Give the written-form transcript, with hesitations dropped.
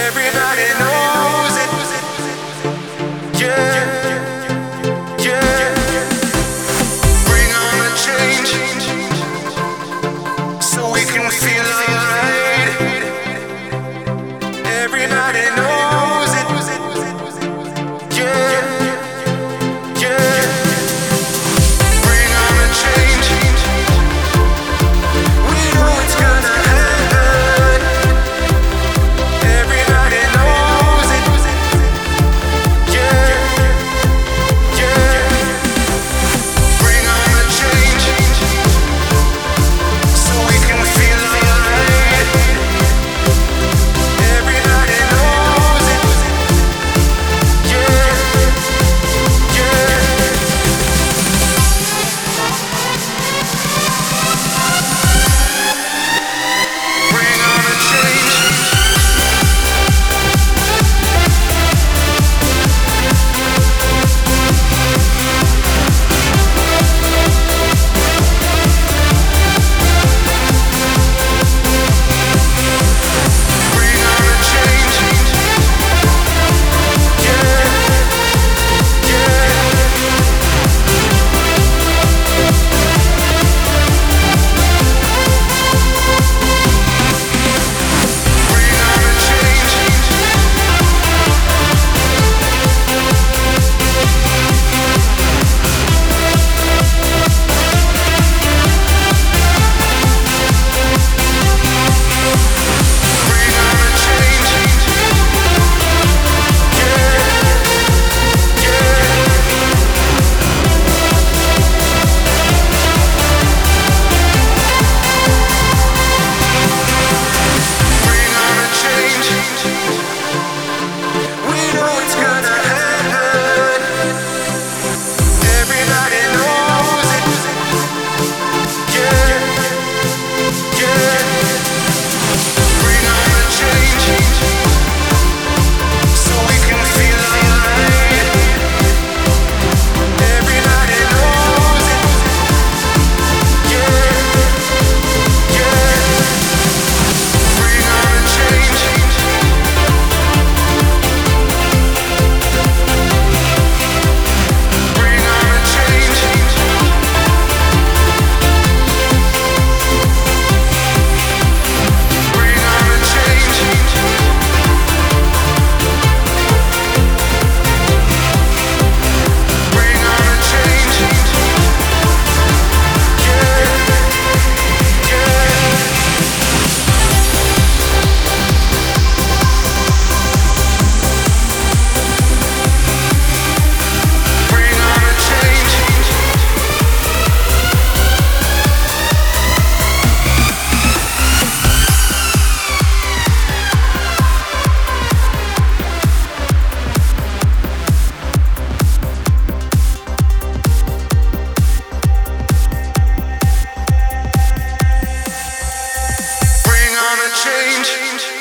Everybody knows it. Yeah, yeah. Bring on the change so we can feel alright. Everybody knows it. Yeah, yeah. Bring on the change. We know it's gonna happen. Everybody knows it. Yeah, yeah. Bring on the change so we can feel alright. Everybody knows it. Yeah, yeah. Bring on the change. Bring on the change. Yeah, yeah. Bring on the change. Bring on the change. Yeah, yeah. Bring on the change. We know it's gonna happen. Everybody knows it. Yeah, yeah. Bring on the change so we can feel alright. Everybody knows it. Yeah, yeah. Bring on the change. Bring on the change. Bring on the change. Bring on the change. Yeah, yeah. Bring on the change. Bring on the change.